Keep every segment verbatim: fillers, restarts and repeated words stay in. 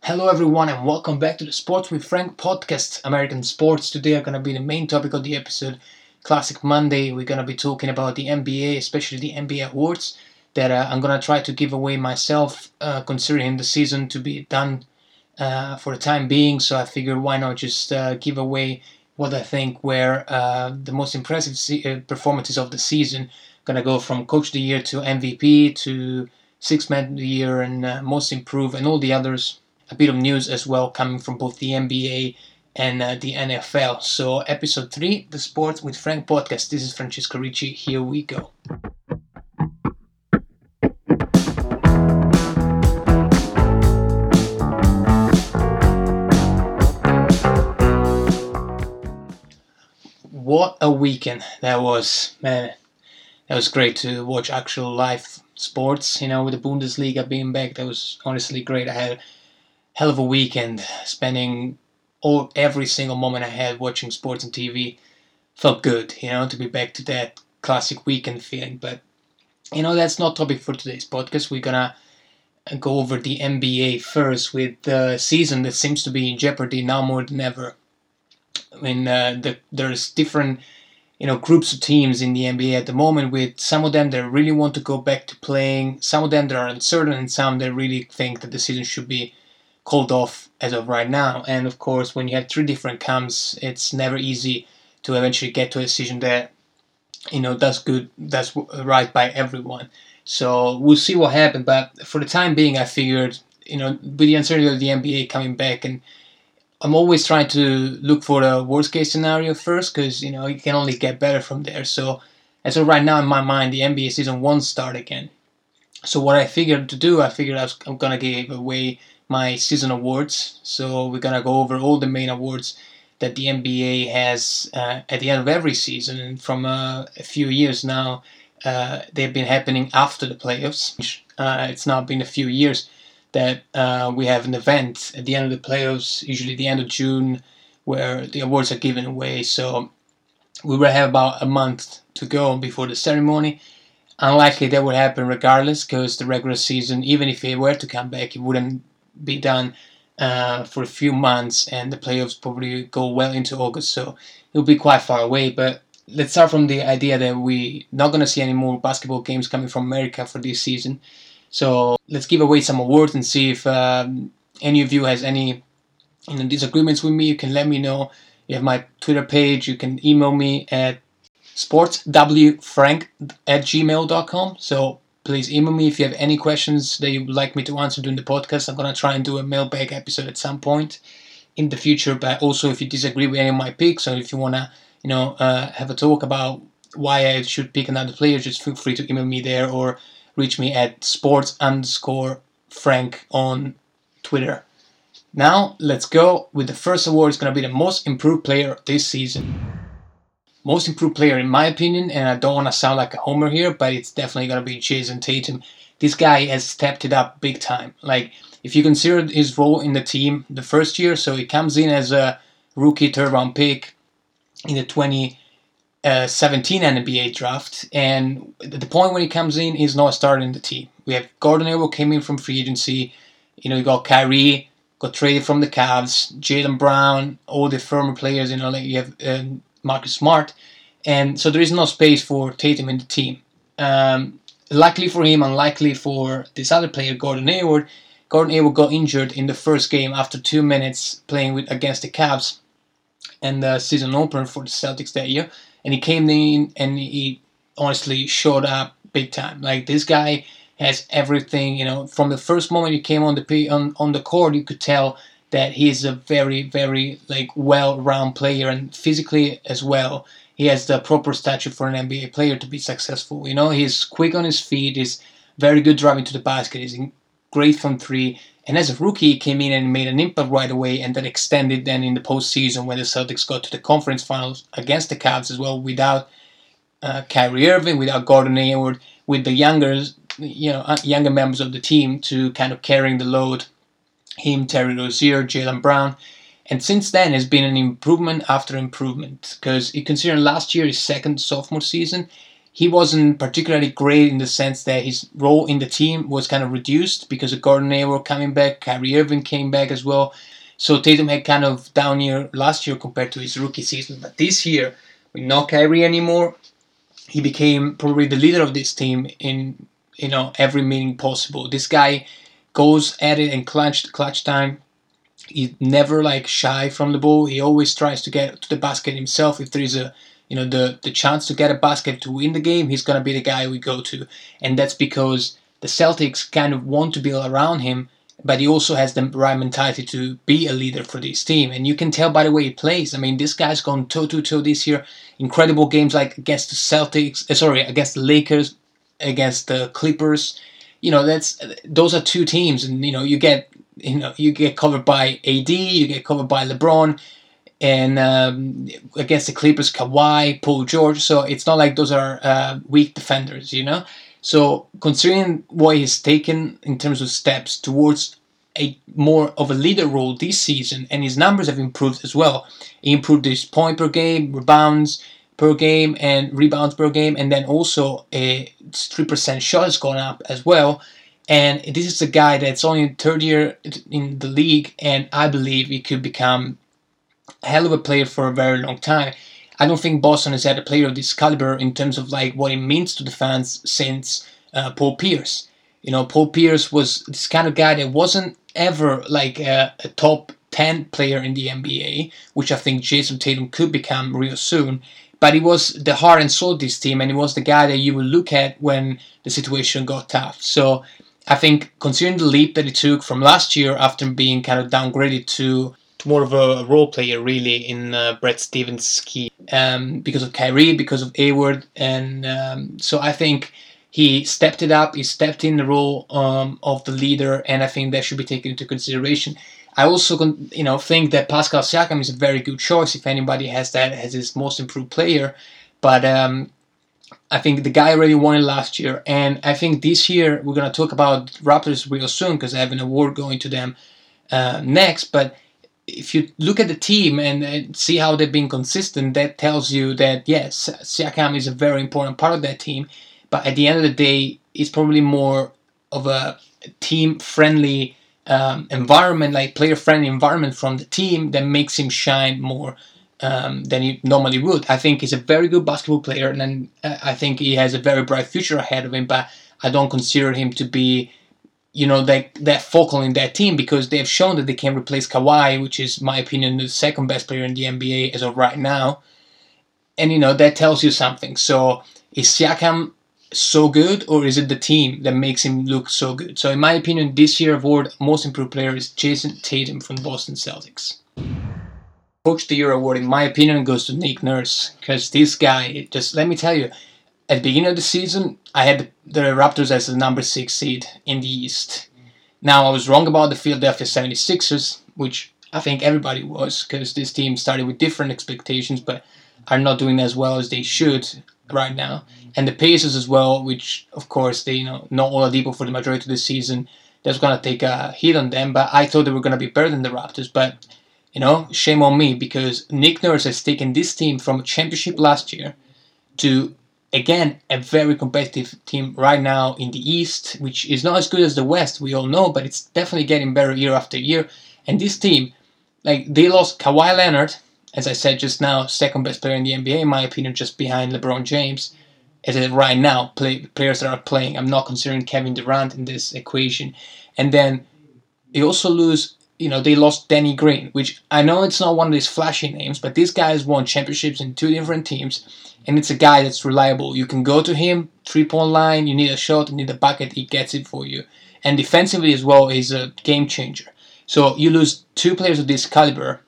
Hello, everyone, and welcome back to the Sports with Frank podcast. American sports today are going to be the main topic of the episode. Classic Monday, we're going to be talking about the N B A, especially the N B A awards that uh, I'm going to try to give away myself, uh, considering the season to be done uh, for the time being. So I figured why not just uh, give away what I think were uh, the most impressive se- uh, performances of the season. Going to go from Coach of the Year to M V P to Sixth Man of the Year and uh, Most Improved and all the others. A bit of news as well coming from both the N B A and uh, the N F L. So episode three, the Sports with Frank podcast. This is Francesco Ricci. Here we go. What a weekend that was, man. That was great to watch actual live sports, you know, with the Bundesliga being back. That was honestly great. I had hell of a weekend, spending all every single moment I had watching sports on T V. Felt good, you know, to be back to that classic weekend feeling. But you know, that's not topic for today's podcast. We're gonna go over the N B A first, with the season that seems to be in jeopardy now more than ever. I mean, uh, the, there's different, you know, groups of teams in the N B A at the moment, with some of them that really want to go back to playing, some of them that are uncertain, and some that really think that the season should be called off as of right now. And of course, when you have three different camps, it's never easy to eventually get to a decision that, you know, does good, does right by everyone. So we'll see what happens. But for the time being, I figured, you know, with the uncertainty of the N B A coming back, and I'm always trying to look for the worst case scenario first, because, you know, it can only get better from there. So as of right now, in my mind, the N B A season won't start again. So what I figured to do, I figured I was, I'm going to give away my season awards. So we're going to go over all the main awards that the N B A has uh, at the end of every season. And from uh, a few years now, uh, they've been happening after the playoffs. Uh, it's now been a few years that uh, we have an event at the end of the playoffs, usually the end of June, where the awards are given away. So we will have about a month to go before the ceremony. Unlikely that would happen regardless, because the regular season, even if it were to come back, it wouldn't be done uh, for a few months, and the playoffs probably go well into August, so it'll be quite far away. But let's start from the idea that we're not going to see any more basketball games coming from America for this season. So let's give away some awards and see if um, any of you has any you know, disagreements with me. You can let me know. You have my Twitter page. You can email me at sportswfrank at gmail dot com. So please email me if you have any questions that you would like me to answer during the podcast. I'm going to try and do a mailbag episode at some point in the future. But also, if you disagree with any of my picks, or if you want to, you know, uh, have a talk about why I should pick another player, just feel free to email me there, or reach me at sports underscore frank on Twitter. Now, let's go with the first award. It's going to be the most improved player this season. Most improved player, in my opinion, and I don't want to sound like a homer here, but it's definitely going to be Jason Tatum. This guy has stepped it up big time. Like, if you consider his role in the team the first year, so he comes in as a rookie third round pick in the twenty seventeen N B A draft, and at the point when he comes in, he's not starting the team. We have Gordon Hayward came in from free agency. You know, you got Kyrie, got traded from the Cavs, Jaylen Brown, all the former players. You know, like you have um, Marcus Smart, and so there is no space for Tatum in the team. Um, luckily for him, unlikely for this other player, Gordon Hayward. Gordon Hayward got injured in the first game after two minutes playing with against the Cavs and the season opener for the Celtics that year. And he came in and he honestly showed up big time. Like, this guy has everything, you know, from the first moment he came on the on, on the court, you could tell that he's a very, very, like, well-rounded player, and physically as well. He has the proper stature for an N B A player to be successful. You know, he's quick on his feet, he's very good driving to the basket, he's great from three. And as a rookie, he came in and made an impact right away, and then extended then in the postseason when the Celtics got to the conference finals against the Cavs as well, without uh, Kyrie Irving, without Gordon Hayward, with the younger, you know, younger members of the team to kind of carrying the load. Him, Terry Rozier, Jaylen Brown. And since then, it's been an improvement after improvement. Because you consider last year, his second sophomore season, he wasn't particularly great in the sense that his role in the team was kind of reduced because of Gordon Hayward coming back, Kyrie Irving came back as well. So Tatum had kind of down year last year compared to his rookie season. But this year, with no Kyrie anymore, he became probably the leader of this team in, you know, every meeting possible. This guy goes at it in clutch clutch time. He's never like shy from the ball. He always tries to get to the basket himself. If there is a you know the the chance to get a basket to win the game, he's gonna be the guy we go to, and that's because the Celtics kind of want to build around him, but he also has the right mentality to be a leader for this team. And you can tell by the way he plays. I mean, this guy's gone toe to toe this year. Incredible games like against the Celtics, uh, sorry, against the Lakers, against the Clippers. You know, that's those are two teams, and you know you get you know you get covered by A D, you get covered by LeBron, and um, against the Clippers, Kawhi, Paul George. So it's not like those are uh, weak defenders, you know. So considering what he's taken in terms of steps towards a more of a leader role this season, and his numbers have improved as well. He improved his point per game, rebounds per game, and rebounds per game, and then also a three percent shot has gone up as well. And this is a guy that's only in third year in the league, and I believe he could become a hell of a player for a very long time. I don't think Boston has had a player of this caliber in terms of like what it means to the fans since uh, Paul Pierce. You know, Paul Pierce was this kind of guy that wasn't ever like a, a top ten player in the N B A, which I think Jason Tatum could become real soon. But he was the heart and soul of this team, and he was the guy that you would look at when the situation got tough. So I think considering the leap that he took from last year after being kind of downgraded to, to more of a role player really in uh, Brad Stevens' scheme um, because of Kyrie, because of Hayward, and um, so I think he stepped it up. He stepped in the role um, of the leader, and I think that should be taken into consideration. I also, you know, think that Pascal Siakam is a very good choice if anybody has that as his most improved player. But um, I think the guy already won it last year, and I think this year we're gonna talk about Raptors real soon because I have an award going to them uh, next. But if you look at the team and, and see how they've been consistent, that tells you that yes, Siakam is a very important part of that team. But at the end of the day, it's probably more of a team-friendly um, environment, like player-friendly environment from the team that makes him shine more um, than he normally would. I think he's a very good basketball player, and then, uh, I think he has a very bright future ahead of him. But I don't consider him to be, you know, that that focal in that team because they have shown that they can replace Kawhi, which is, in my opinion, the second best player in the N B A as of right now. And you know that tells you something. So is Siakam so good, or is it the team that makes him look so good? So in my opinion, this year award most improved player is Jason Tatum from the Boston Celtics. Coach of the Year award, in my opinion, goes to Nick Nurse because this guy, just let me tell you, at the beginning of the season, I had the Raptors as the number six seed in the East. Now, I was wrong about the Philadelphia seventy-sixers, which I think everybody was because this team started with different expectations but are not doing as well as they should right now. And the Pacers as well, which of course they, you know, not Oladipo for the majority of the season. That's gonna take a hit on them. But I thought they were gonna be better than the Raptors. But you know, shame on me because Nick Nurse has taken this team from a championship last year to again a very competitive team right now in the East, which is not as good as the West, we all know, but it's definitely getting better year after year. And this team, like they lost Kawhi Leonard, as I said just now, second best player in the N B A in my opinion, just behind LeBron James. As it right now, play, players that are playing. I'm not considering Kevin Durant in this equation. And then they also lose, you know, they lost Danny Green, which I know it's not one of these flashy names, but this guy has won championships in two different teams, and it's a guy that's reliable. You can go to him, three-point line, you need a shot, you need a bucket, he gets it for you. And defensively as well, he's a game changer. So you lose two players of this caliber,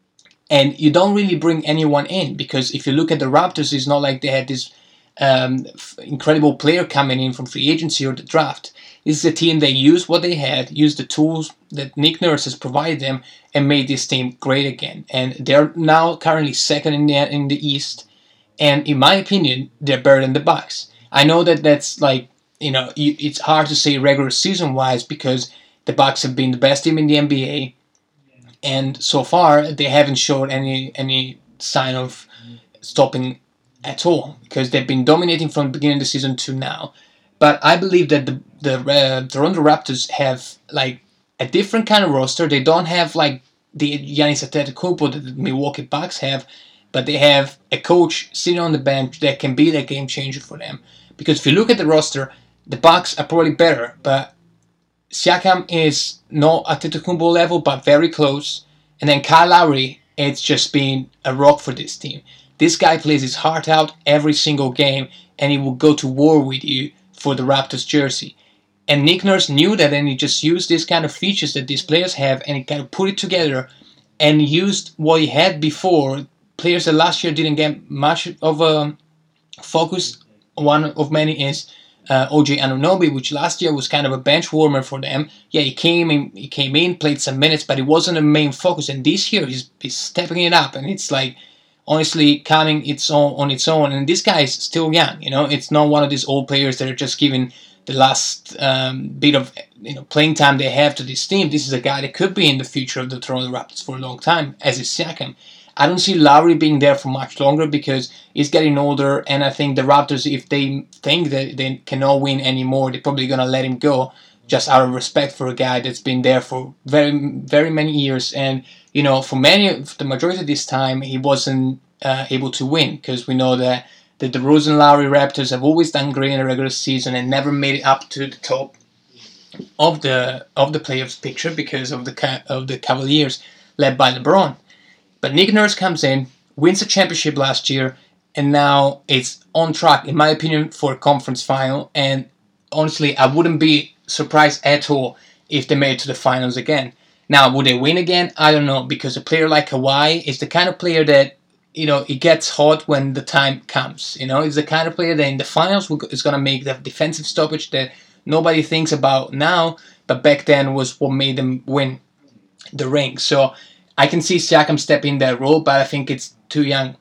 and you don't really bring anyone in, because if you look at the Raptors, it's not like they had this Um, incredible player coming in from free agency or the draft. This is a team that used what they had, used the tools that Nick Nurse has provided them, and made this team great again. And they're now currently second in the in the East, and in my opinion, they're better than the Bucks. I know that that's like, you know, it's hard to say regular season wise because the Bucks have been the best team in the N B A, and so far they haven't showed any any sign of stopping at all, because they've been dominating from the beginning of the season to now. But I believe that the the uh, Toronto Raptors have like a different kind of roster. They don't have like the Giannis Antetokounmpo that the Milwaukee Bucks have, but they have a coach sitting on the bench that can be that game changer for them. Because if you look at the roster, the Bucks are probably better, but Siakam is not at Antetokounmpo level, but very close. And then Kyle Lowry, it's just been a rock for this team. This guy plays his heart out every single game, and he will go to war with you for the Raptors jersey. And Nick Nurse knew that, and he just used these kind of features that these players have, and he kind of put it together and used what he had before. Players that last year didn't get much of a focus. One of many is uh, O G Anunoby, which last year was kind of a bench warmer for them. Yeah, he came in, he came in, played some minutes, but it wasn't a main focus. And this year he's, he's stepping it up, and it's like honestly coming its own on its own. And this guy is still young, you know. It's not one of these old players that are just giving the last um, bit of you know playing time they have to this team. This is a guy that could be in the future of the Toronto Raptors for a long time, as is Siakam. I don't see Lowry being there for much longer because he's getting older, and I think the Raptors, if they think that they cannot win anymore, they're probably gonna let him go just out of respect for a guy that's been there for very, very many years. And you know, for many, for the majority of this time, he wasn't uh, able to win because we know that the DeRozan Lowry Raptors have always done great in the regular season and never made it up to the top of the of the playoffs picture because of the of the Cavaliers led by LeBron. But Nick Nurse comes in, wins a championship last year, and now it's on track, in my opinion, for a conference final. And honestly, I wouldn't be surprised at all if they made it to the finals again. Now, would they win again? I don't know, because a player like Kawhi is the kind of player that, you know, it gets hot when the time comes. You know, he's the kind of player that in the finals is going to make the defensive stoppage that nobody thinks about now, but back then was what made them win the ring. So I can see Siakam step in that role, but I think it's too young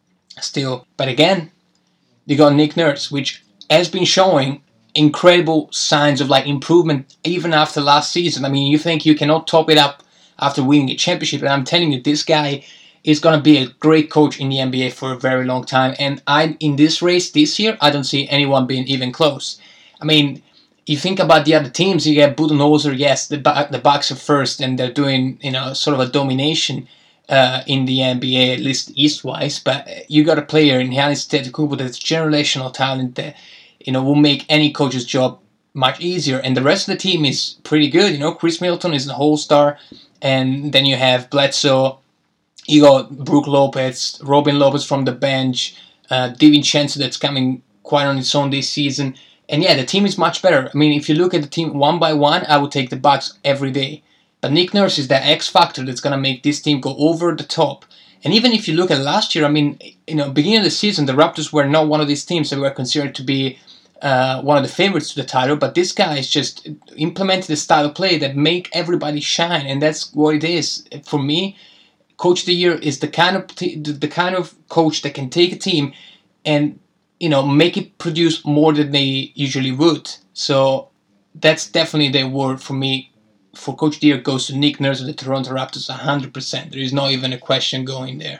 still. But again, you got Nick Nurse, which has been showing incredible signs of like improvement even after last season. I mean, you think you cannot top it up after winning a championship, and I'm telling you, this guy is going to be a great coach in the N B A for a very long time. And I, in this race this year, I don't see anyone being even close. I mean, you think about the other teams, you get Budenholzer, yes, the the Bucks are first, and they're doing, you know, sort of a domination uh, in the N B A, at least East-wise. But you got a player in Giannis Antetokounmpo that's generational talent that, you know, will make any coach's job much easier. And the rest of the team is pretty good. You know, Chris Middleton is the whole star, and then you have Bledsoe, you got Brook Lopez, Robin Lopez from the bench, uh, DiVincenzo that's coming quite on its own this season. And yeah, the team is much better. I mean, if you look at the team one by one, I would take the Bucks every day. But Nick Nurse is the X factor that's going to make this team go over the top. And even if you look at last year, I mean, you know, beginning of the season, the Raptors were not one of these teams that were considered to be uh, one of the favorites to the title. But this guy is just implemented a style of play that make everybody shine, and that's what it is. For me, Coach of the Year is the kind of t- the kind of coach that can take a team and, you know, make it produce more than they usually would. So that's definitely the award for me. For Coach of the Year goes to Nick Nurse of the Toronto Raptors, one hundred percent. There is not even a question going there.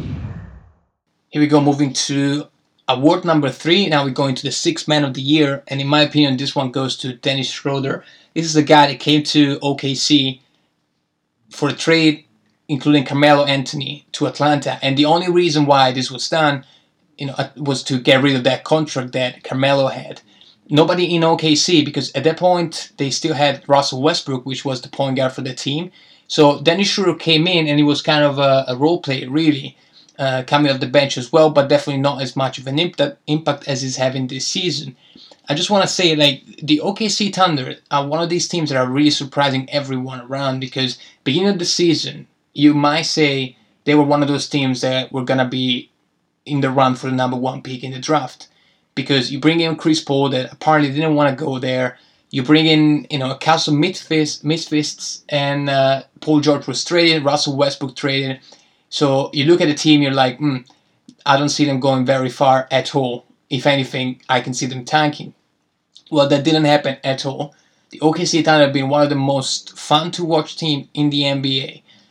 Here we go, moving to award number three. Now we're going to the Sixth Man of the Year, and in my opinion, this one goes to Dennis Schroeder. This is the guy that came to O K C for a trade, including Carmelo Anthony, to Atlanta. And the only reason why this was done, you know, was to get rid of that contract that Carmelo had. Nobody in O K C, because at that point they still had Russell Westbrook, which was the point guard for the team. So Dennis Schroeder came in, and he was kind of a, a role player, really, uh, coming off the bench as well, but definitely not as much of an impact, impact as he's having this season. I just want to say, like, the O K C Thunder are one of these teams that are really surprising everyone around, because beginning of the season, you might say they were one of those teams that were going to be in the run for the number one pick in the draft. Because you bring in Chris Paul that apparently didn't want to go there. You bring in, you know, a cast of misfits, misfits and uh, Paul George was traded, Russell Westbrook traded. So you look at the team, you're like, hmm, I don't see them going very far at all. If anything, I can see them tanking. Well, that didn't happen at all. The O K C Thunder have been one of the most fun to watch team in the N B A.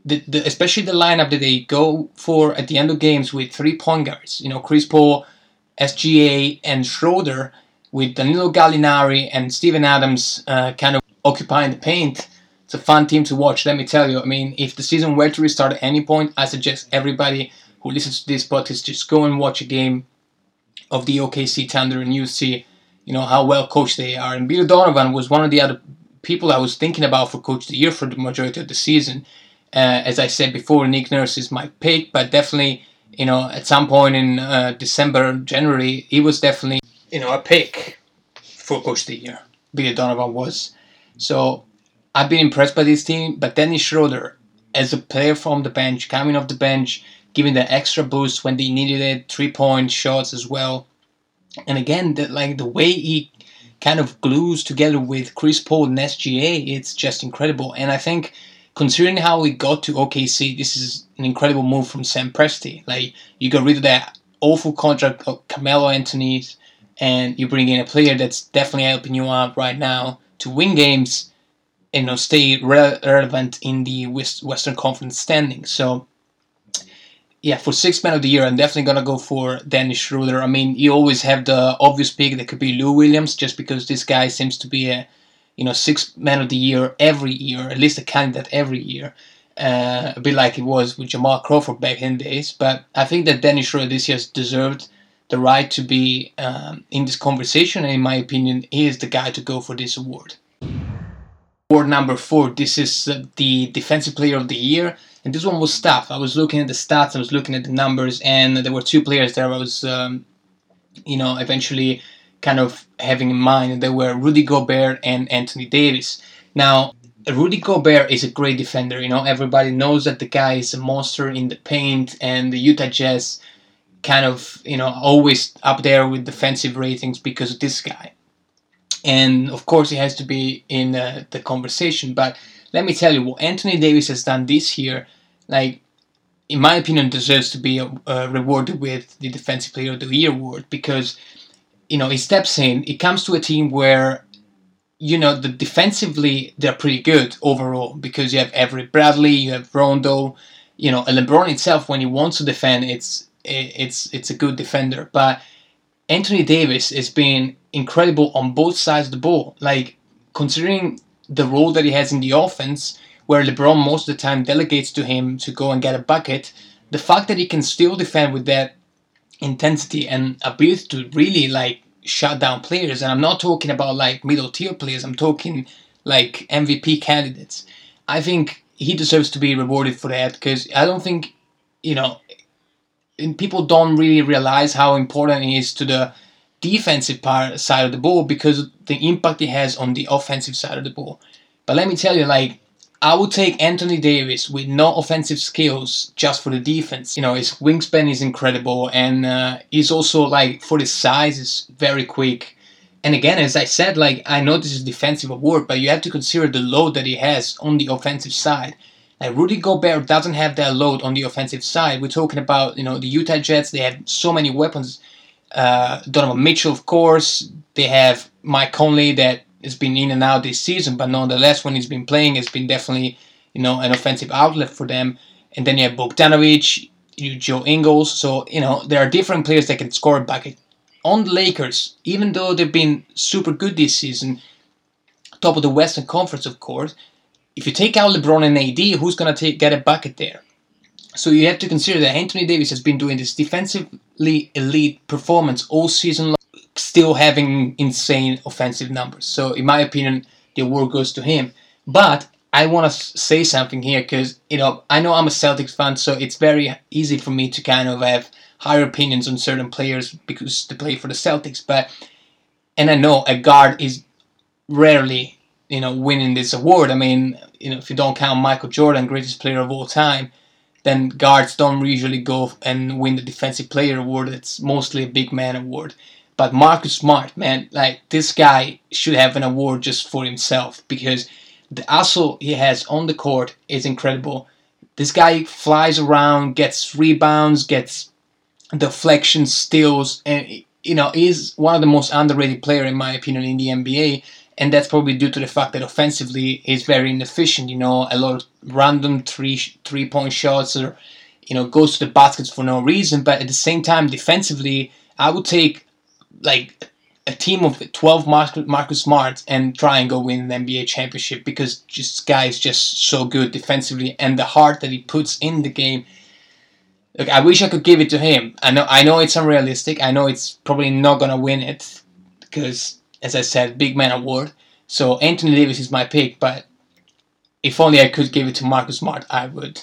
the, the especially the lineup that they go for at the end of games with three point guards, you know, Chris Paul, S G A, and Schroeder, with Danilo Gallinari and Steven Adams uh, kind of occupying the paint. It's a fun team to watch, let me tell you. I mean, if the season were to restart at any point, I suggest everybody who listens to this podcast just go and watch a game of the O K C Thunder, and you see, you know, how well coached they are. And Bill Donovan was one of the other people I was thinking about for Coach of the Year for the majority of the season. Uh, as I said before, Nick Nurse is my pick, but definitely, you know, at some point in uh, December, January, he was definitely, you know, a pick for Coach of the Year. Billy Donovan was. So I've been impressed by this team, but Dennis Schroeder, as a player from the bench, coming off the bench, giving the extra boost when they needed it, three-point shots as well. And again, the, like the way he kind of glues together with Chris Paul and S G A, it's just incredible. And I think, considering how we got to O K C, this is an incredible move from Sam Presti. Like, you got rid of that awful contract of Carmelo Anthony, and you bring in a player that's definitely helping you out right now to win games, and, you know, stay re- relevant in the West- Western Conference standings. So, yeah, for sixth man of the year, I'm definitely going to go for Dennis Schroeder. I mean, you always have the obvious pick that could be Lou Williams, just because this guy seems to be a, you know, sixth man of the year every year, at least a candidate every year. Uh, a bit like it was with Jamal Crawford back in days. But I think that Dennis Schroeder this year has deserved the right to be um, in this conversation, and in my opinion, he is the guy to go for this award. Award number four, this is uh, the Defensive Player of the Year, and this one was tough. I was looking at the stats, I was looking at the numbers, and there were two players there I was, um, you know, eventually kind of having in mind, and they were Rudy Gobert and Anthony Davis. Now, Rudy Gobert is a great defender, you know, everybody knows that the guy is a monster in the paint, and the Utah Jazz kind of, you know, always up there with defensive ratings because of this guy. And of course he has to be in uh, the conversation, but let me tell you, what Anthony Davis has done this year, like, in my opinion, deserves to be uh, rewarded with the Defensive Player of the Year award, because, you know, he steps in, he comes to a team where, you know, the defensively they're pretty good overall, because you have Avery Bradley, you have Rondo, you know, and LeBron itself, when he wants to defend, it's it's it's a good defender. But Anthony Davis has been incredible on both sides of the ball. Like, considering the role that he has in the offense, where LeBron most of the time delegates to him to go and get a bucket, the fact that he can still defend with that intensity and ability to really, like, shut down players, and I'm not talking about, like, middle tier players, I'm talking, like, M V P candidates. I think he deserves to be rewarded for that, because I don't think, you know, and people don't really realize how important he is to the defensive part, side of the ball, because of the impact he has on the offensive side of the ball. But let me tell you, like, I would take Anthony Davis with no offensive skills just for the defense. You know, his wingspan is incredible, and uh, he's also, like, for his size, is very quick. And again, as I said, like, I know this is a defensive award, but you have to consider the load that he has on the offensive side. Like, Rudy Gobert doesn't have that load on the offensive side. We're talking about, you know, the Utah Jazz, they have so many weapons. Uh, Donovan Mitchell, of course. They have Mike Conley that has been in and out this season, but nonetheless, when he's been playing, it's been definitely, you know, an offensive outlet for them. And then you have Bogdanovic, you Joe Ingles. So, you know, there are different players that can score a bucket. On the Lakers, even though they've been super good this season, top of the Western Conference, of course, if you take out LeBron and A D, who's going to get a bucket there? So you have to consider that Anthony Davis has been doing this defensively elite performance all season long, still having insane offensive numbers. So in my opinion, the award goes to him. But I want to say something here, because, you know, I know I'm a Celtics fan, so it's very easy for me to kind of have higher opinions on certain players because they play for the Celtics. But, and I know a guard is rarely, you know, winning this award. I mean, you know, if you don't count Michael Jordan, greatest player of all time, then guards don't usually go and win the Defensive Player award. It's mostly a big man award. But Marcus Smart, man, like, this guy should have an award just for himself, because the hustle he has on the court is incredible. This guy flies around, gets rebounds, gets deflections, steals, and, you know, is one of the most underrated players, in my opinion, in the N B A. and that's probably due to the fact that offensively he's very inefficient. You know, a lot of random three three point shots, or you know, goes to the baskets for no reason. But at the same time, defensively, I would take like a team of twelve Marcus Smarts and try and go win an N B A championship, because this guy is just so good defensively, and the heart that he puts in the game. Look, I wish I could give it to him. I know, I know it's unrealistic. I know it's probably not gonna win it because, as I said, big man award. So Anthony Davis is my pick, but if only I could give it to Marcus Smart, I would.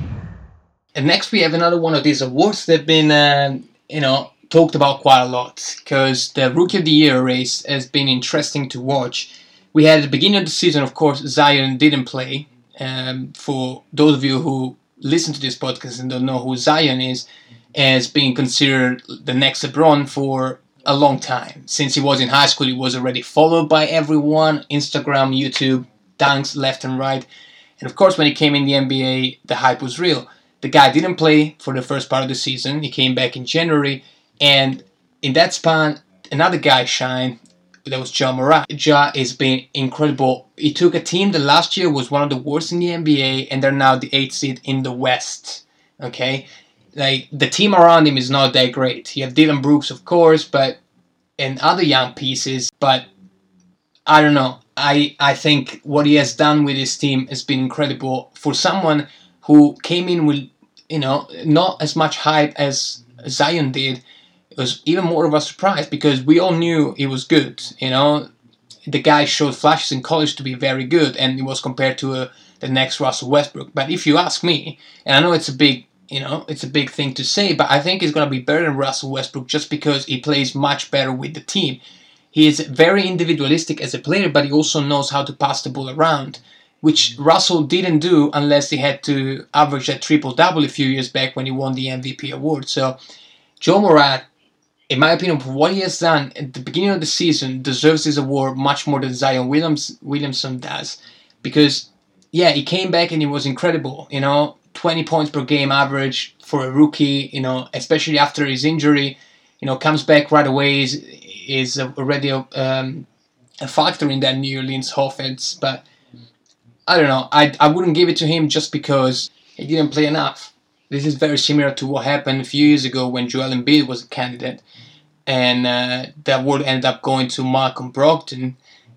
And next we have another one of these awards that have been, uh, you know, talked about quite a lot, because the Rookie of the Year race has been interesting to watch. We had at the beginning of the season, of course, Zion didn't play. Um, for those of you who listen to this podcast and don't know who Zion is, as being considered the next LeBron for a long time. Since he was in high school, he was already followed by everyone, Instagram, YouTube, dunks left and right. And of course, when he came in the N B A, the hype was real. The guy didn't play for the first part of the season. He came back in January, and in that span, another guy shined. That was Ja Morant. Ja has been incredible. He took a team that last year was one of the worst in the N B A, and they're now the eighth seed in the West. Okay, like the team around him is not that great. You have Dylan Brooks, of course, but and other young pieces. But I don't know. I I think what he has done with his team has been incredible for someone who came in with, you know, not as much hype as Zion did. It was even more of a surprise because we all knew he was good. You know, the guy showed flashes in college to be very good, and he was compared to uh, the next Russell Westbrook. But if you ask me, and I know it's a big, you know, it's a big thing to say, but I think he's gonna be better than Russell Westbrook just because he plays much better with the team. He is very individualistic as a player, but he also knows how to pass the ball around, which Russell didn't do unless he had to average a triple-double a few years back when he won the M V P award. So, Ja Morant, in my opinion, for what he has done at the beginning of the season, deserves this award much more than Zion Williams, Williamson does. Because, yeah, he came back and he was incredible. You know, twenty points per game average for a rookie, you know, especially after his injury. You know, comes back right away, is, is already a, um, a factor in that New Orleans offense. But, I don't know, I, I wouldn't give it to him just because he didn't play enough. This is very similar to what happened a few years ago when Joel Embiid was a candidate. And uh, that award ended up going to Malcolm Brogdon.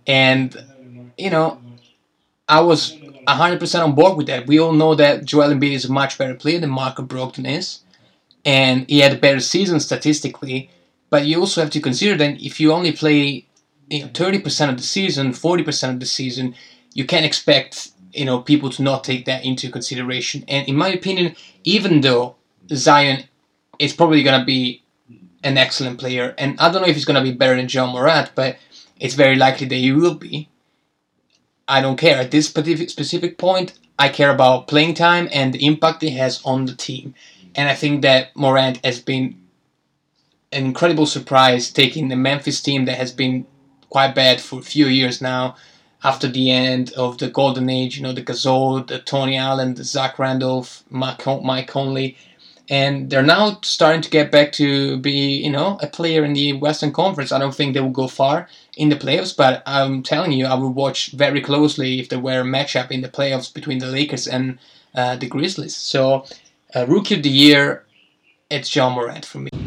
And, you know, I was one hundred percent on board with that. We all know that Joel Embiid is a much better player than Malcolm Brogdon is. And he had a better season statistically. But you also have to consider that if you only play, you know, thirty percent of the season, forty percent of the season, you can't expect, you know, people to not take that into consideration. And in my opinion, even though Zion is probably going to be an excellent player, and I don't know if he's going to be better than Ja Morant, but it's very likely that he will be. I don't care. At this specific, specific point, I care about playing time and the impact he has on the team. And I think that Morant has been an incredible surprise, taking the Memphis team that has been quite bad for a few years now, after the end of the golden age, you know, the Gasol, the Tony Allen, the Zach Randolph, Mike Conley, and they're now starting to get back to be, you know, a player in the Western Conference. I don't think they will go far in the playoffs, but I'm telling you, I would watch very closely if there were a matchup in the playoffs between the Lakers and uh, the Grizzlies. So, uh, Rookie of the Year, it's Ja Morant for me.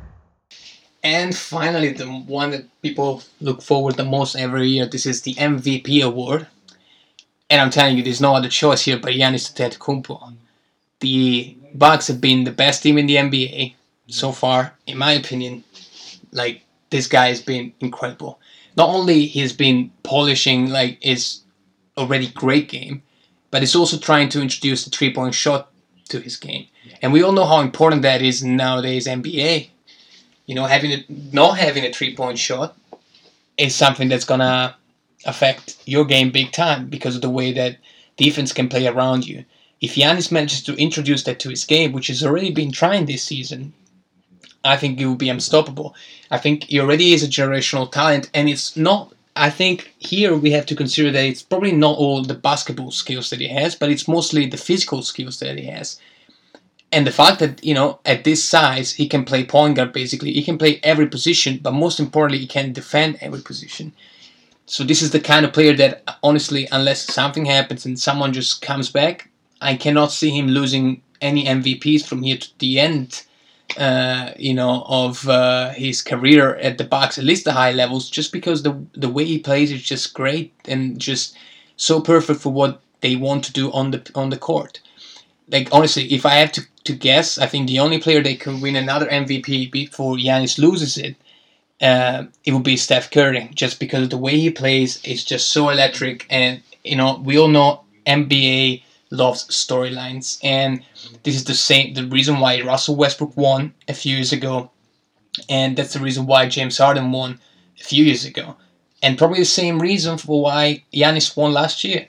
And finally, the one that people look forward the most every year, this is the M V P award. And I'm telling you, there's no other choice here but Giannis Antetokounmpo. The Bucks have been the best team in the N B A so far, in my opinion. Like, this guy has been incredible. Not only he's been polishing like his already great game, but he's also trying to introduce the three-point shot to his game. And we all know how important that is in nowadays N B A. You know, having a, not having a three-point shot is something that's going to affect your game big time because of the way that defense can play around you. If Giannis manages to introduce that to his game, which he's already been trying this season, I think he will be unstoppable. I think he already is a generational talent, and it's not, I think here we have to consider that it's probably not all the basketball skills that he has, but it's mostly the physical skills that he has. And the fact that, you know, at this size, he can play point guard basically. He can play every position, but most importantly, he can defend every position. So this is the kind of player that, honestly, unless something happens and someone just comes back, I cannot see him losing any M V Ps from here to the end, uh, you know, of uh, his career at the Bucks, at least the high levels, just because the the way he plays is just great and just so perfect for what they want to do on the on the court. Like, honestly, if I have to, to guess, I think the only player that can win another M V P before Giannis loses it, uh, it would be Steph Curry, just because the way he plays is just so electric. And, you know, we all know N B A loves storylines, and this is the same the reason why Russell Westbrook won a few years ago, and that's the reason why James Harden won a few years ago, and probably the same reason for why Giannis won last year.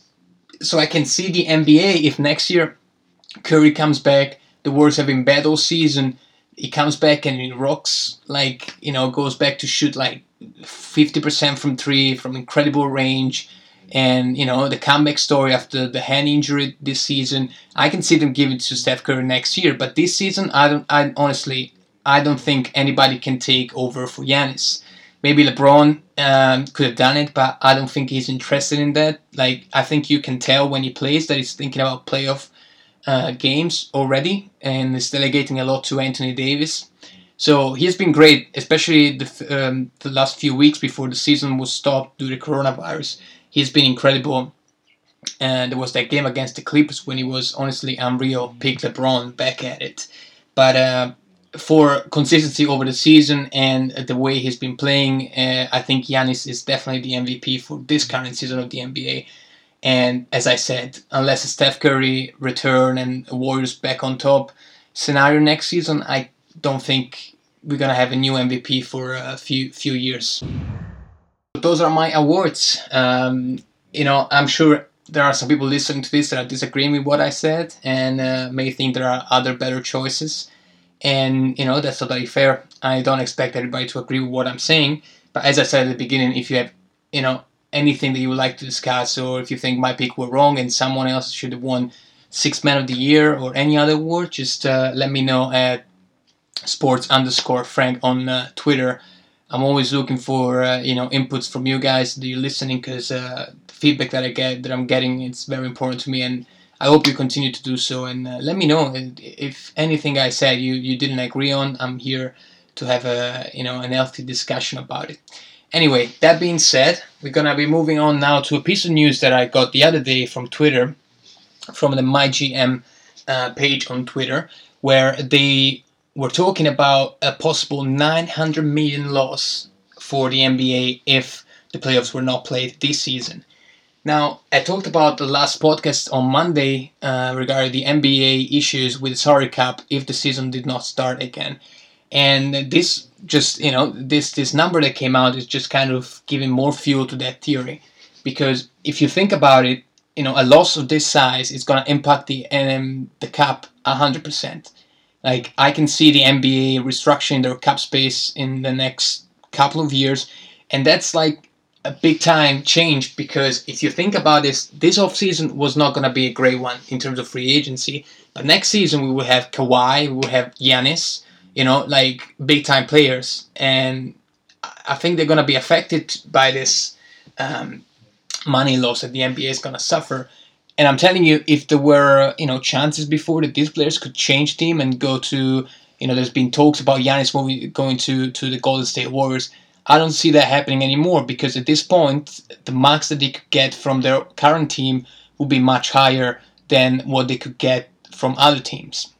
So I can see the N B A, if next year Curry comes back, the Warriors have been bad all season, he comes back and he rocks, like, you know, goes back to shoot like fifty percent from three, from incredible range, and, you know, the comeback story after the hand injury this season, I can see them give it to Steph Curry next year. But this season, I don't, I honestly, I don't think anybody can take over for Giannis. Maybe LeBron um, could have done it, but I don't think he's interested in that. Like, I think you can tell when he plays that he's thinking about playoff uh, games already, and is delegating a lot to Anthony Davis. So he's been great, especially the um, the last few weeks before the season was stopped due to coronavirus. He's been incredible. And there was that game against the Clippers when he was honestly unreal. Pick LeBron back at it. But uh, for consistency over the season and the way he's been playing, uh, I think Giannis is definitely the M V P for this current season of the N B A. And as I said, unless a Steph Curry return and Warriors back on top scenario next season, I don't think we're gonna have a new M V P for a few few years. Those are my awards. Um, you know, I'm sure there are some people listening to this that are disagreeing with what I said and uh, may think there are other better choices. And, you know, that's totally fair. I don't expect everybody to agree with what I'm saying. But as I said at the beginning, if you have, you know, anything that you would like to discuss, or if you think my pick were wrong and someone else should have won Sixth Man of the Year or any other award, just uh, let me know at sports underscore Frank on uh, Twitter. I'm always looking for uh, you know inputs from you guys that you're listening, because uh, the feedback that I get that I'm getting, it's very important to me, and I hope you continue to do so. And uh, let me know if anything I said you, you didn't agree on. I'm here to have a you know an healthy discussion about it. Anyway, that being said, we're gonna be moving on now to a piece of news that I got the other day from Twitter, from the MyGM uh, page on Twitter, where they we're talking about a possible nine hundred million loss for the N B A if the playoffs were not played this season. Now, I talked about the last podcast on Monday uh, regarding the N B A issues with the salary cap if the season did not start again. And this just, you know, this, this number that came out is just kind of giving more fuel to that theory. Because if you think about it, you know, a loss of this size is going to impact the um, the cap one hundred percent. Like, I can see the N B A restructuring their cap space in the next couple of years, and that's like a big time change, because if you think about this, this offseason was not going to be a great one in terms of free agency, but next season we will have Kawhi, we will have Giannis, you know, like big time players, and I think they're going to be affected by this um, money loss that the N B A is going to suffer. And I'm telling you, if there were, you know, chances before that these players could change team and go to, you know, there's been talks about Giannis moving, going to, to the Golden State Warriors. I don't see that happening anymore, because at this point, the max that they could get from their current team would be much higher than what they could get from other teams.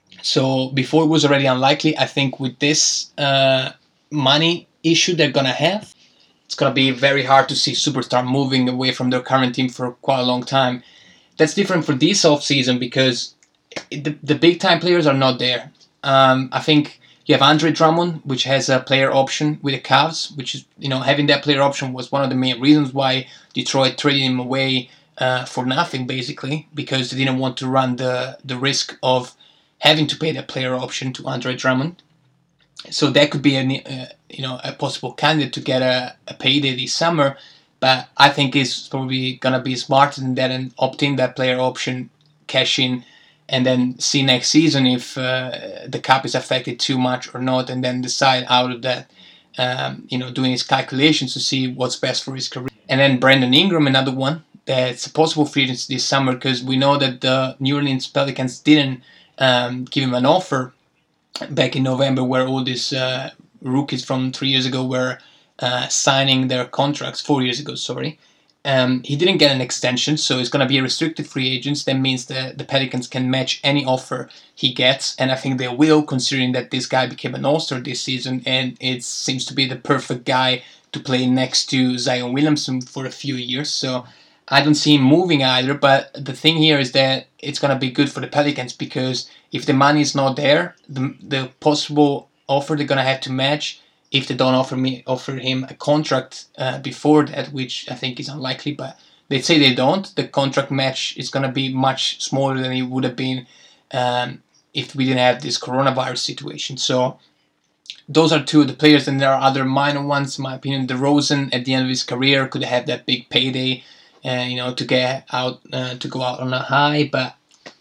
So before it was already unlikely, I think with this uh, money issue they're going to have, it's going to be very hard to see superstar moving away from their current team for quite a long time. That's different for this offseason, because the, the big-time players are not there. Um, I think you have Andre Drummond, which has a player option with the Cavs, which is, you know, having that player option was one of the main reasons why Detroit traded him away uh, for nothing, basically, because they didn't want to run the, the risk of having to pay that player option to Andre Drummond. So that could be a, uh, you know, a possible candidate to get a, a payday this summer. But I think it's probably going to be smarter than that and opt in that player option, cash in, and then see next season if uh, the cap is affected too much or not, and then decide out of that um, you know, doing his calculations to see what's best for his career. And then Brandon Ingram, another one that's a possible free agent this summer, because we know that the New Orleans Pelicans didn't um, give him an offer back in November, where all these uh, rookies from three years ago were uh, signing their contracts, four years ago, sorry. Um, he didn't get an extension, so he's going to be a restricted free agent. That means that the Pelicans can match any offer he gets, and I think they will, considering that this guy became an All-Star this season, and it seems to be the perfect guy to play next to Zion Williamson for a few years. So I don't see him moving either, but the thing here is that it's going to be good for the Pelicans, because if the money is not there, the, the possible offer they're going to have to match, if they don't offer me offer him a contract uh, before that, which I think is unlikely, but they say they don't, the contract match is going to be much smaller than it would have been um, if we didn't have this coronavirus situation. So those are two of the players, and there are other minor ones. In my opinion, DeRozan at the end of his career could have that big payday, uh, you know, to get out, uh, to go out on a high. But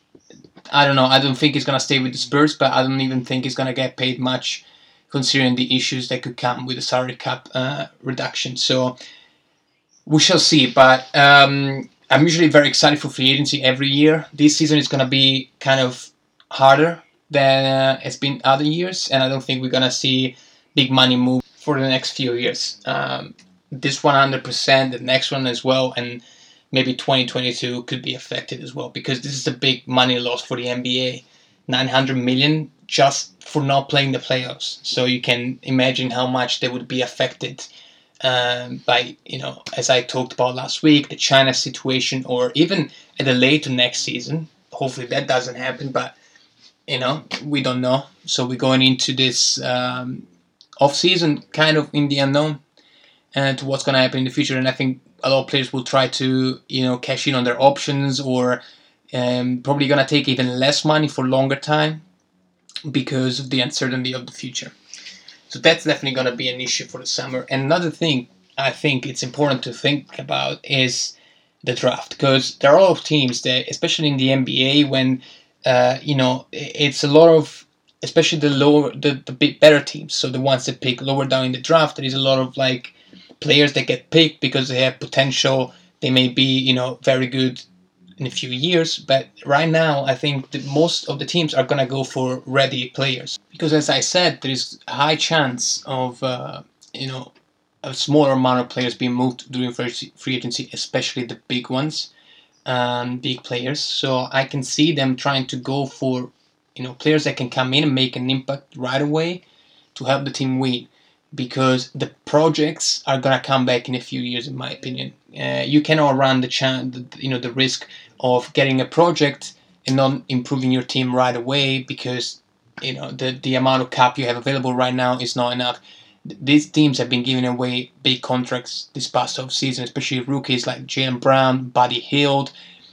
I don't know. I don't think he's gonna stay with the Spurs, but I don't even think he's gonna get paid much, considering the issues that could come with the salary cap uh, reduction. So we shall see. But um, I'm usually very excited for free agency every year. This season is gonna be kind of harder than uh, it's been other years, and I don't think we're gonna see big money move for the next few years. Um, this one hundred percent, the next one as well, and maybe twenty twenty-two could be affected as well, because this is a big money loss for the N B A. nine hundred million just for not playing the playoffs. So you can imagine how much they would be affected um, by, you know, as I talked about last week, the China situation, or even at a later next season. Hopefully that doesn't happen, but you know, we don't know. So we're going into this um, off season kind of in the unknown and to what's going to happen in the future. And I think a lot of players will try to, you know, cash in on their options, or um, probably going to take even less money for longer time because of the uncertainty of the future. So that's definitely going to be an issue for the summer. And another thing I think it's important to think about is the draft, because there are a lot of teams that, especially in the N B A, when uh, you know, it's a lot of, especially the lower, the, the bit better teams, so the ones that pick lower down in the draft, there is a lot of like players that get picked because they have potential. They may be, you know, very good in a few years, but right now I think that most of the teams are gonna go for ready players, because as I said, there is a high chance of uh, you know, a smaller amount of players being moved during free agency, especially the big ones, um, big players. So I can see them trying to go for, you know, players that can come in and make an impact right away to help the team win, because the projects are gonna come back in a few years, in my opinion. Uh, you cannot run the chance, you know, the risk of getting a project and not improving your team right away, because you know the the amount of cap you have available right now is not enough. These teams have been giving away big contracts this past off season, especially rookies like Jaylen Brown, Buddy Hield,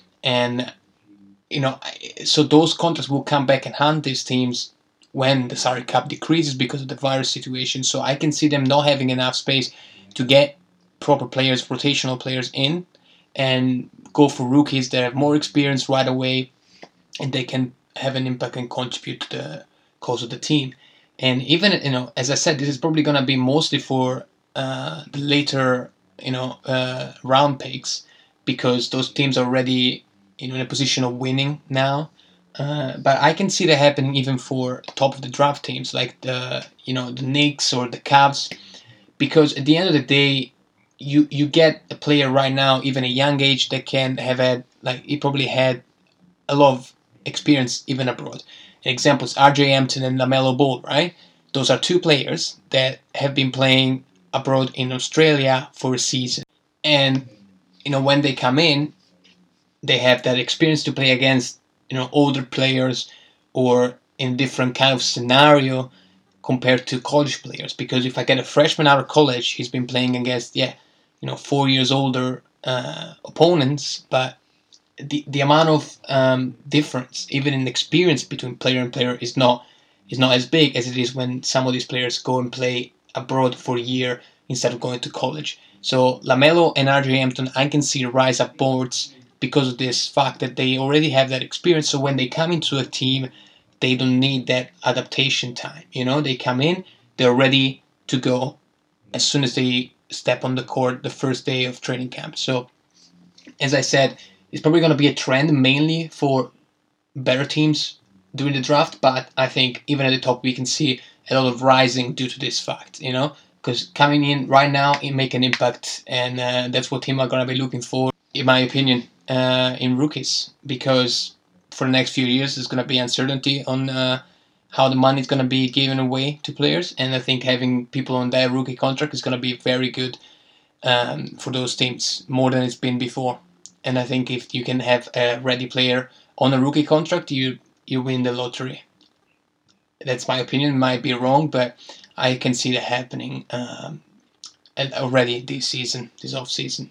and you know, so those contracts will come back and haunt these teams when the salary cap decreases because of the virus situation. So I can see them not having enough space to get proper players, rotational players in, and go for rookies that have more experience right away, and they can have an impact and contribute to the cause of the team. And even, you know, as I said, this is probably going to be mostly for uh, the later, you know, uh, round picks, because those teams are already, you know, in a position of winning now. Uh, but I can see that happening even for top of the draft teams like the, you know, the Knicks or the Cavs, because at the end of the day, you you get a player right now, even a young age, that can have had, like, he probably had a lot of experience even abroad. An example is R J Hampton and LaMelo Ball, right? Those are two players that have been playing abroad in Australia for a season. And, you know, when they come in, they have that experience to play against, you know, older players or in different kind of scenario compared to college players. Because if I get a freshman out of college, he's been playing against, yeah, you know, four years older uh, opponents, but the the amount of um, difference, even in experience between player and player, is not is not as big as it is when some of these players go and play abroad for a year instead of going to college. So LaMelo and R J Hampton, I can see rise up boards because of this fact that they already have that experience. So when they come into a team, they don't need that adaptation time. You know, they come in, they're ready to go, as soon as they step on the court the first day of training camp. So, as I said, it's probably going to be a trend mainly for better teams during the draft, but I think even at the top we can see a lot of rising due to this fact, you know, because coming in right now it make an impact, and uh, that's what team are going to be looking for, in my opinion, uh, in rookies, because for the next few years there's going to be uncertainty on uh, how the money is going to be given away to players, and I think having people on their rookie contract is going to be very good um, for those teams, more than it's been before. And I think if you can have a ready player on a rookie contract, you you win the lottery. That's my opinion. Might be wrong, but I can see that happening um, already this season, this off season.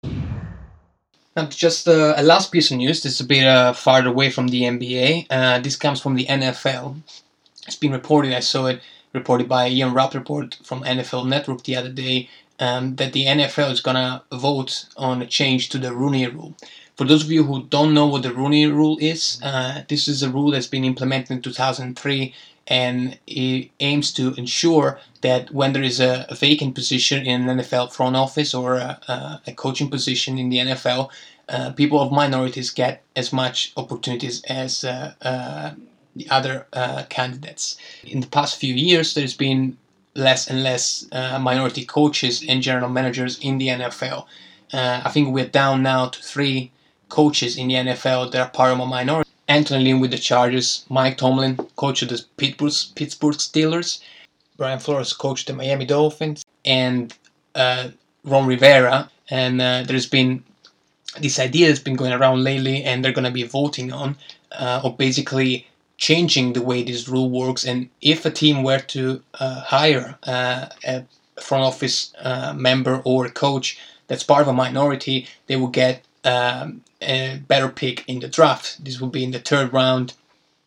Now, just uh, a last piece of news. This is a bit uh, farther away from the N B A. Uh, this comes from the N F L. It's been reported. I saw it reported by Ian Rappaport from N F L Network the other day. Um, that the N F L is gonna vote on a change to the Rooney Rule. For those of you who don't know what the Rooney Rule is, uh, this is a rule that's been implemented in two thousand three, and it aims to ensure that when there is a, a vacant position in an N F L front office or a, a, a coaching position in the N F L, uh, people of minorities get as much opportunities as uh, uh, the other uh, candidates. In the past few years, there's been less and less uh, minority coaches and general managers in the N F L. Uh, I think we're down now to three coaches in the N F L that are part of a minority. Anthony Lynn with the Chargers, Mike Tomlin, coach of the Pittsburgh, Pittsburgh Steelers, Brian Flores, coach of the Miami Dolphins, and uh, Ron Rivera. And uh, there's been this idea that's been going around lately, and they're going to be voting on, uh, or basically changing the way this rule works. And if a team were to uh, hire uh, a front office uh, member or a coach that's part of a minority, they will get um, a better pick in the draft. This will be in the third round,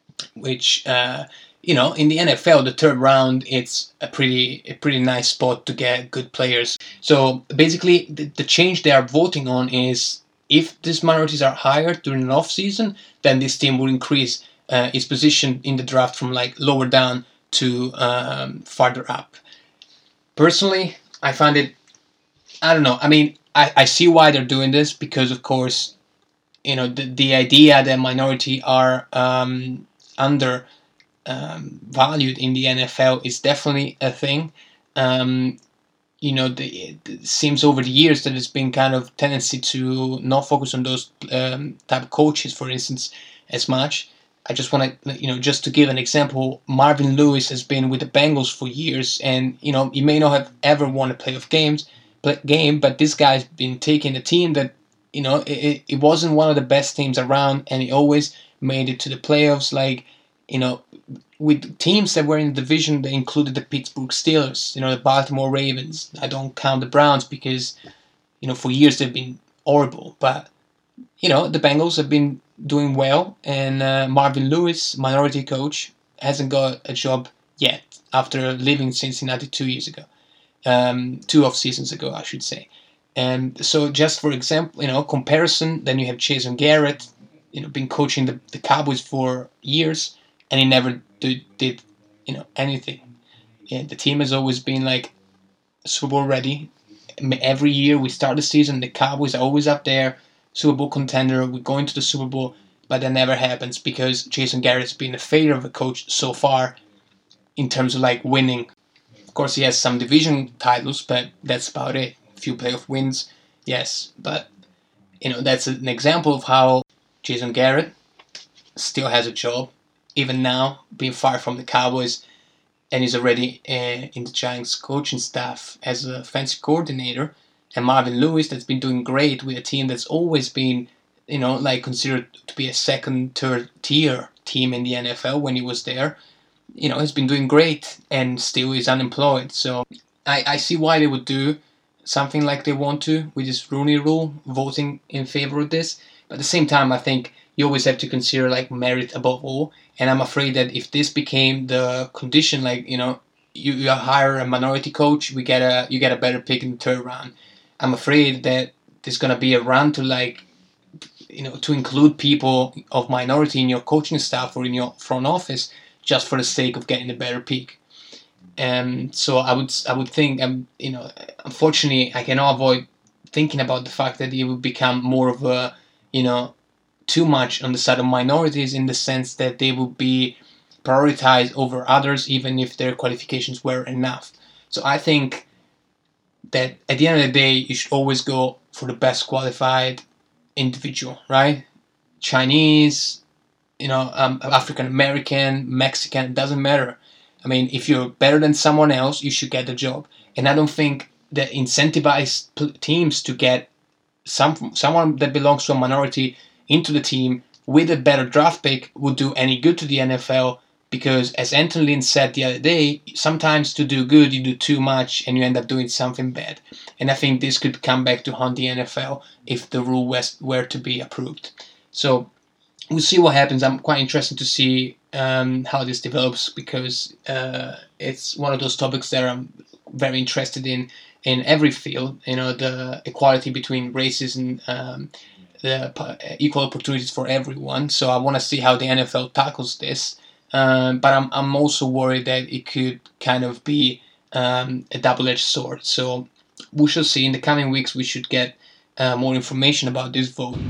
which uh, you know, in the N F L, the third round, it's a pretty a pretty nice spot to get good players. So basically, the, the change they are voting on is if these minorities are hired during an off season, then this team will increase Uh, its position in the draft from like lower down to um, farther up. Personally, I find it, I don't know, I mean, I, I see why they're doing this, because of course, you know, the, the idea that minority are um, under um, valued in the N F L is definitely a thing. Um, you know, the, it seems over the years that there's been kind of tendency to not focus on those um, type of coaches, for instance, as much. I just want to, you know, just to give an example, Marvin Lewis has been with the Bengals for years, and, you know, he may not have ever won a playoff games, play, game, but this guy's been taking a team that, you know, it, it wasn't one of the best teams around, and he always made it to the playoffs, like, you know, with teams that were in the division that included the Pittsburgh Steelers, you know, the Baltimore Ravens. I don't count the Browns because, you know, for years they've been horrible, but, you know, the Bengals have been doing well, and uh, Marvin Lewis, minority coach, hasn't got a job yet after leaving Cincinnati two years ago, um, two off seasons ago, I should say. And so, just for example, you know, comparison, then you have Jason Garrett, you know, been coaching the, the Cowboys for years, and he never did, did you know, anything. Yeah, the team has always been like Super Bowl ready. Every year we start the season, the Cowboys are always up there. Super Bowl contender, we're going to the Super Bowl, but that never happens because Jason Garrett's been a failure of a coach so far in terms of like winning. Of course, he has some division titles, but that's about it. A few playoff wins, yes, but you know, that's an example of how Jason Garrett still has a job, even now, being fired from the Cowboys, and he's already uh, in the Giants coaching staff as a offensive coordinator. And Marvin Lewis, that's been doing great with a team that's always been, you know, like considered to be a second, third tier team in the N F L when he was there. You know, has been doing great and still is unemployed. So I, I see why they would do something like they want to with this Rooney Rule, voting in favor of this. But at the same time, I think you always have to consider like merit above all. And I'm afraid that if this became the condition, like, you know, you, you hire a minority coach, we get a you get a better pick in the third round. I'm afraid that there's gonna be a run to like, you know, to include people of minority in your coaching staff or in your front office just for the sake of getting a better pick. Um, so I would I would think, um, you know, unfortunately, I cannot avoid thinking about the fact that it would become more of a, you know, too much on the side of minorities, in the sense that they would be prioritized over others, even if their qualifications were enough. So I think that at the end of the day, you should always go for the best qualified individual, right? Chinese, you know, um, African American, Mexican, it doesn't matter. I mean, if you're better than someone else, you should get the job. And I don't think that incentivize teams to get some someone that belongs to a minority into the team with a better draft pick would do any good to the N F L, because, as Anthony Lynn said the other day, sometimes to do good you do too much and you end up doing something bad. And I think this could come back to haunt the N F L if the rule was, were to be approved. So we'll see what happens. I'm quite interested to see um, how this develops, because uh, it's one of those topics that I'm very interested in in every field. You know, the equality between races and um, the equal opportunities for everyone. So I want to see how the N F L tackles this. Um, but I'm I'm also worried that it could kind of be um, a double-edged sword. So we shall see. In the coming weeks, we should get uh, more information about this vote.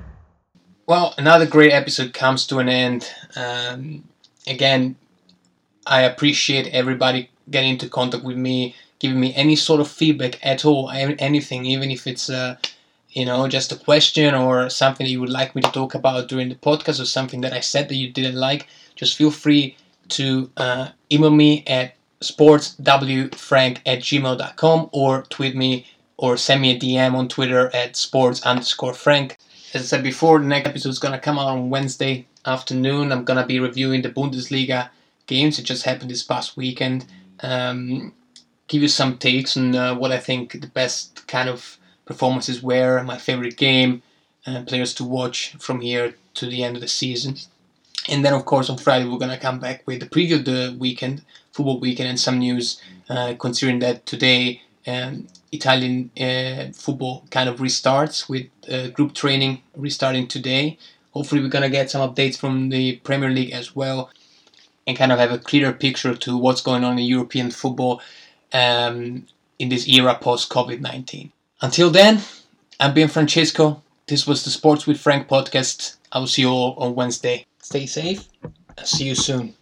Well, another great episode comes to an end. Um, again, I appreciate everybody getting into contact with me, giving me any sort of feedback at all, anything, even if it's uh, you know, just a question or something that you would like me to talk about during the podcast, or something that I said that you didn't like. Just feel free to uh, email me at sportswfrank at gmail dot com, or tweet me or send me a D M on Twitter at sports underscore frank. As I said before, the next episode is going to come out on Wednesday afternoon. I'm going to be reviewing the Bundesliga games that just happened this past weekend. Um, give you some takes on uh, what I think the best kind of performances were, my favorite game, uh, players to watch from here to the end of the season. And then, of course, on Friday, we're going to come back with the preview of the weekend, football weekend, and some news, uh, considering that today um, Italian uh, football kind of restarts, with uh, group training restarting today. Hopefully, we're going to get some updates from the Premier League as well, and kind of have a clearer picture to what's going on in European football um, in this era post-COVID nineteen. Until then, I'm Ben Francesco. This was the Sports with Frank podcast. I will see you all on Wednesday. Stay safe. I'll see you soon.